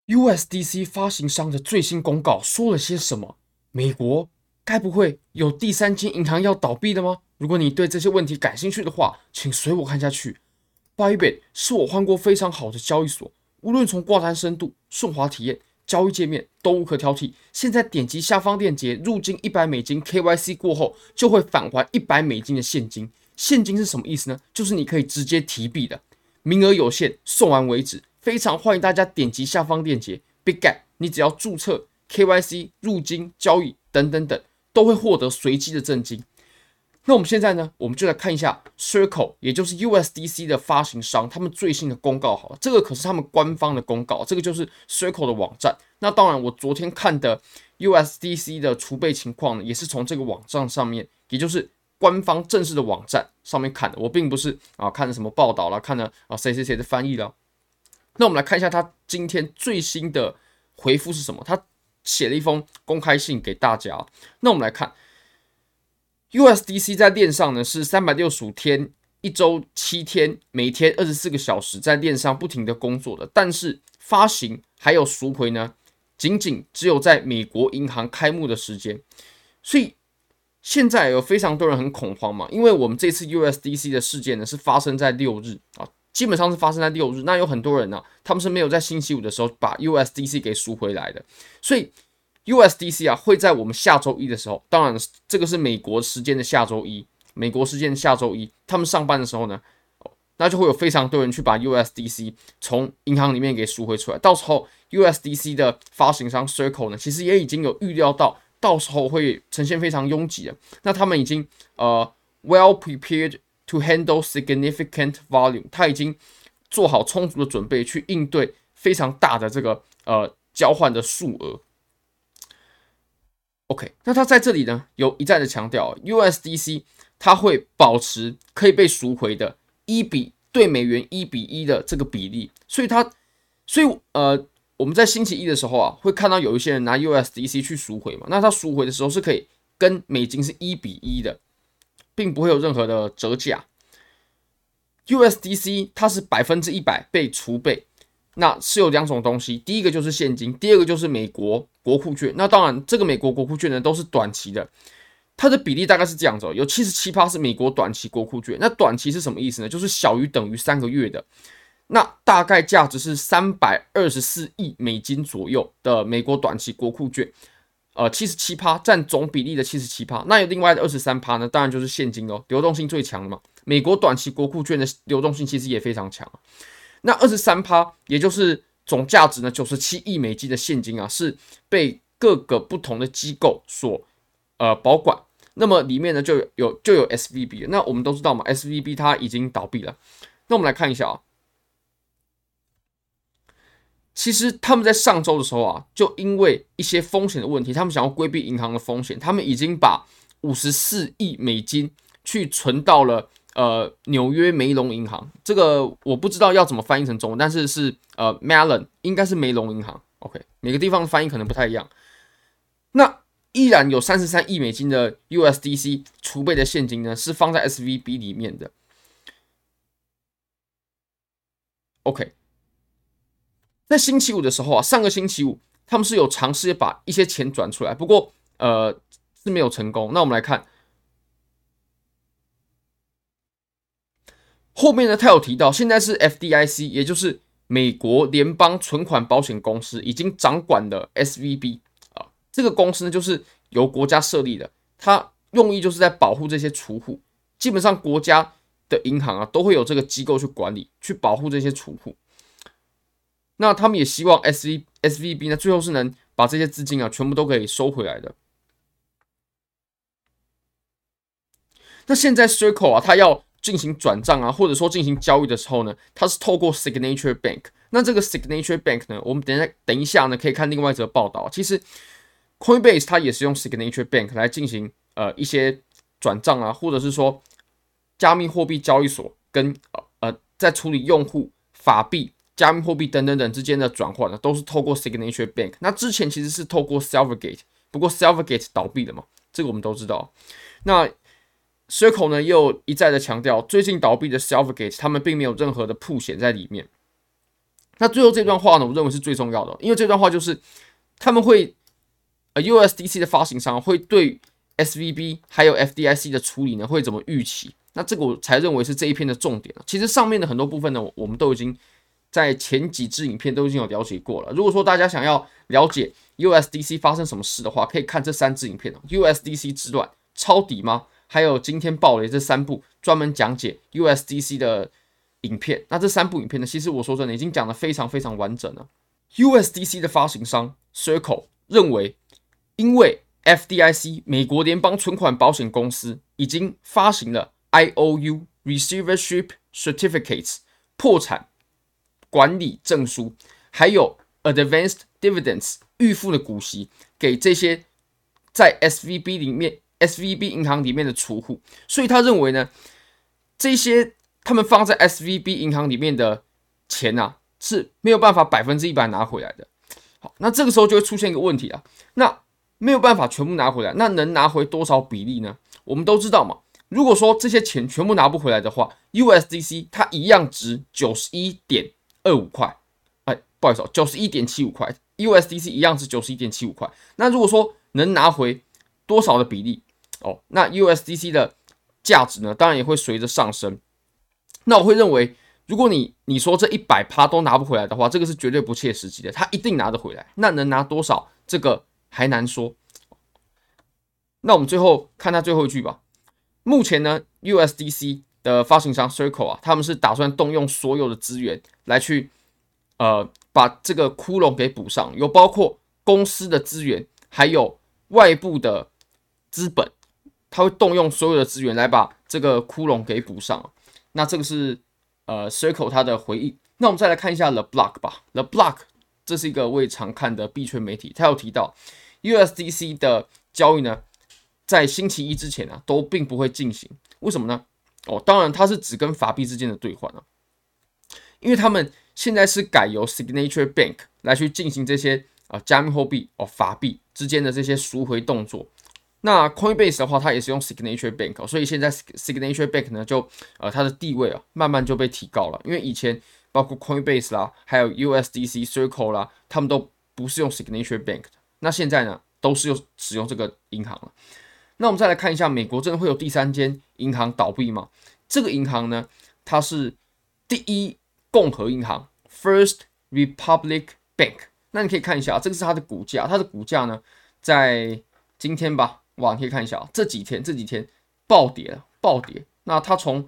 USDC 發行商的最新公告說了些什麼？美國該不會有第三間銀行要倒閉了嗎？如果你對這些問題感興趣的話，請隨我看下去。Bybit 是我換過非常好的交易所，無論從掛單深度、順滑體驗、交易界面都無可挑剔。現在點擊下方鏈接入金$100 ，KYC 過後就會返還$100的現金。現金是什麼意思呢？就是你可以直接提幣的，名額有限，送完為止。非常歡迎大家點擊下方鏈接 ，BitGet， 你只要註冊 KYC 入金交易等等等，都會獲得隨機的贈金。那我們現在呢，我們就來看一下 Circle， 也就是 USDC 的發行商，他們最新的公告好了，這個可是他們官方的公告，這個就是 Circle 的網站。那當然，我昨天看的 USDC 的儲備情況呢，也是從這個網站上面，也就是官方正式的網站上面看的。我並不是看了什麼報道啦，看了誰誰誰的翻譯啦。那我們來看一下他今天最新的回復是什麼？他寫了一封公開信給大家。那我們來看 USDC 在鏈上呢是365天，一周7天，每天24個小時在鏈上不停的工作的。但是發行還有贖回呢，僅僅只有在美國銀行開幕的時間。所以現在有非常多人很恐慌嘛，因為我們這次 USDC 的事件呢是發生在6日啊。基本上是發生在6日，那有很多人呢，他們是沒有在星期五的時候把 USDC 給贖回來的，所以 USDC 會在我們下周一的時候，當然這個是美國時間的下周一，他們上班的時候呢，那就會有非常多人去把 USDC 從銀行裡面給贖回出來，到時候 USDC 的發行商 Circle 呢，其實也已經有預料到時候會呈現非常擁擠的，那他們已經well prepared。To handle significant volume， 他已經做好充足的準備去應對非常大的這個交換的數額。OK， 那他在這裡呢有一再的強調 ，USDC 它會保持可以被贖回的對美元1:1的這個比例，所以我們在星期一的時候會看到有一些人拿 USDC 去贖回嘛，那他贖回的時候是可以跟美金是1:1的。並不會有任何的折價。USDC 它是100%被儲備，那是有兩種東西，第一個就是現金，第二個就是美國國庫券。那當然，這個美國國庫券呢都是短期的，它的比例大概是這樣子，有77%是美國短期國庫券。那短期是什麼意思呢？就是小於等於3個月的，那大概價值是$324億左右的美國短期國庫券。77%占總比例的77%，那有另外的23%呢，當然就是現金流動性最強的嘛。美國短期國庫券的流動性其實也非常強。那23%，也就是總價值呢97億美金的現金是被各個不同的機構所保管。那麼裡面呢就有 SVB， 那我們都知道嘛 ，SVB 它已經倒閉了。那我們來看一下其實他們在上週的時候就因為一些風險的問題，他們想要規避銀行的風險，他們已經把54億美金去存到了紐約梅隆銀行。這個我不知道要怎麼翻譯成中文，但是Mellon 應該是梅隆銀行。OK， 每個地方的翻譯可能不太一樣。那依然有33億美金的 USDC 儲備的現金呢，是放在 SVB 裡面的。OK。在星期五的時候上個星期五他們是有嘗試把一些錢轉出來，不過是沒有成功。那我們來看後面呢，他有提到現在是 FDIC， 也就是美國聯邦存款保險公司已經掌管了 SVB 這個公司呢就是由國家設立的，它用意就是在保護這些儲戶。基本上國家的銀行都會有這個機構去管理，去保護這些儲戶。那他們也希望 SVB 呢，最後是能把這些資金全部都可以收回來的。那現在 Circle 它要進行轉賬或者說進行交易的時候呢，它是透過 Signature Bank。那這個 Signature Bank 呢，我們等一下呢可以看另外一則報道。其實 Coinbase 它也是用 Signature Bank 來進行一些轉賬或者是說加密貨幣交易所跟在處理用戶法幣、加密貨幣等等之間的轉換呢，都是透過 Signature Bank。那之前其實是透過 Silvergate， 不過 Silvergate 倒閉了嘛，這個我們都知道。那 Circle 呢，也有一再的強調，最近倒閉的 Silvergate， 他們並沒有任何的曝險在裡面。 那最後這段話呢，我認為是最重要的，因為這段話就是他們會USDC 的發行商會對 SVB 還有 FDIC 的處理呢會怎麼預期？那這個我才認為是這一篇的重點。其實上面的很多部分呢，我們都已經在前幾支影片都已經有了解過了。如果說大家想要了解 USDC 發生什麼事的話，可以看這3支影片：USDC 之亂、抄底嗎？還有今天爆雷這3部專門講解 USDC 的影片。那這3部影片呢，其實我說真的已經講得非常非常完整了。USDC 的發行商 Circle 認為，因為 FDIC 美國聯邦存款保險公司已經發行了 IOU Receivership Certificates 破產管理證書，還有 Advanced Dividends 預付的股息給這些在 SVB 銀行裡面的儲戶，所以他認為呢，這些他們放在 SVB 銀行裡面的錢啊是沒有辦法100%拿回來的。好，那這個時候就會出現一個問題啊，那沒有辦法全部拿回來，那能拿回多少比例呢？我們都知道嘛，如果說這些錢全部拿不回來的話 ，USDC 它一樣值91.25塊，不好意思，91.75塊 ，USDC 一樣值91.75塊。那如果說能拿回多少的比例那 USDC 的價值呢，當然也會隨着上升。那我會認為，如果你說這100%都拿不回來的話，這個是絕對不切實際的，它一定拿得回來。那能拿多少，這個還難說。那我們最後看它最後一句吧。目前呢 ，USDC 的發行商 Circle 啊，他們是打算動用所有的資源來去把這個窟窿給補上，有包括公司的資源，還有外部的資本，他會動用所有的資源來把這個窟窿給補上。那這個是Circle 他的回應。那我們再來看一下 The Block 吧。The Block 這是一個我也常看的幣圈媒體，他有提到 USDC 的交易呢，在星期一之前啊，都並不會進行。為什麼呢？當然它是只跟法幣之間的兌換啊，因為他們現在是改由 Signature Bank 來去進行這些加密貨幣法幣之間的這些贖回動作。那 Coinbase 的話，它也是用 Signature Bank，所以現在 Signature Bank 呢，就它的地位慢慢就被提高了。因為以前包括 Coinbase 啦，還有 USDC Circle 啦，他們都不是用 Signature Bank 的。那現在呢，都是使用這個銀行了。那我們再來看一下，美國真的會有第3間銀行倒閉嗎？這個銀行呢，它是第一共和銀行 First Republic Bank。那你可以看一下，這個是它的股價，它的股價呢，在今天吧，哇，你可以看一下這幾天暴跌了，暴跌。那它從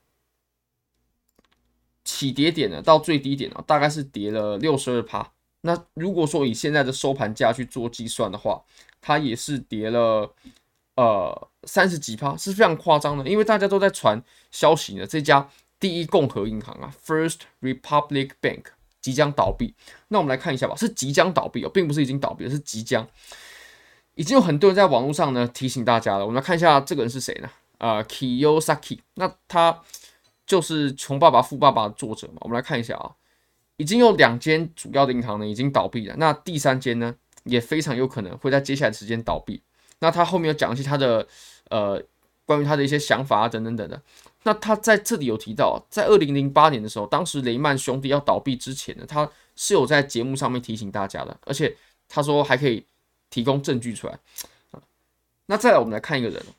起跌點呢到最低點呢，大概是跌了62%。那如果說以現在的收盤價去做計算的話，它也是跌了30幾%，是非常誇張的。因為大家都在傳消息呢，這家第一共和銀行啊 ，First Republic Bank 即將倒閉。那我們來看一下吧，是即將倒閉並不是已經倒閉了，是即將。已經有很多人在網絡上呢提醒大家了。我們來看一下這個人是誰呢？Kiyosaki， 那他就是《窮爸爸富爸爸》的作者嘛。我們來看一下啊，已經有2間主要的銀行呢已經倒閉了，那第3間呢也非常有可能會在接下來的時間倒閉。那他後面有講一些他的關於他的一些想法等等的。那他在這裡有提到，在2008年的時候，當時雷曼兄弟要倒閉之前呢，他是有在節目上面提醒大家的，而且他說還可以提供證據出來。那再来我們來看一個人，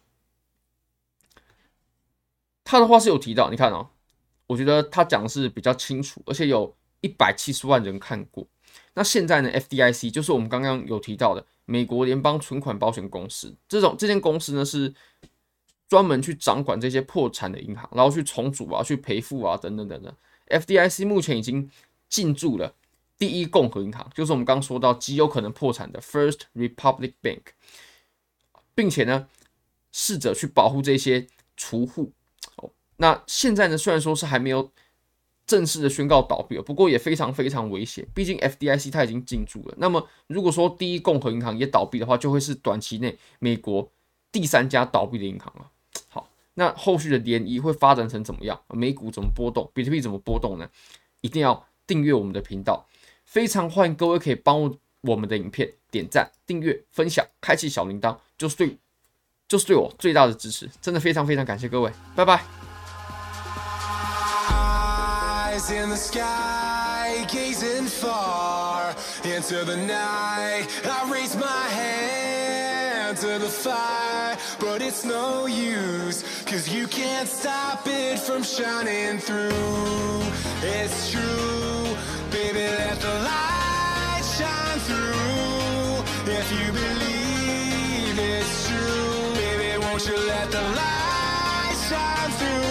他的話是有提到，你看我覺得他講的是比較清楚，而且有170萬人看過。那現在呢 ，FDIC 就是我們剛剛有提到的美國聯邦存款保險公司，這間公司呢是專門去掌管這些破產的銀行，然後去重組啊、去賠付啊等等等等。FDIC 目前已經進駐了第一共和銀行，就是我們剛剛說到極有可能破產的 First Republic Bank， 並且呢試着去保護這些儲戶。那現在呢，雖然說是還沒有正式的宣告倒閉，不過也非常非常危險，畢竟 FDIC 它已經進駐了。那麼如果說第一共和銀行也倒閉的話，就會是短期內美國第3家倒閉的銀行了。好，那後續的漣漪會發展成怎麼樣？美股怎麼波動？比特幣怎麼波動呢？一定要訂閱我們的頻道，非常歡迎各位可以幫我們的影片點讚、訂閱、分享、開啟小鈴鐺，就是對我最大的支持，真的非常非常感謝各位，拜拜。In the sky, gazing far into the night. I raise my hand to the fire, but it's no use, 'cause you can't stop it from shining through. It's true, baby, let the light shine through. If you believe it's true, baby, won't you let the light shine through?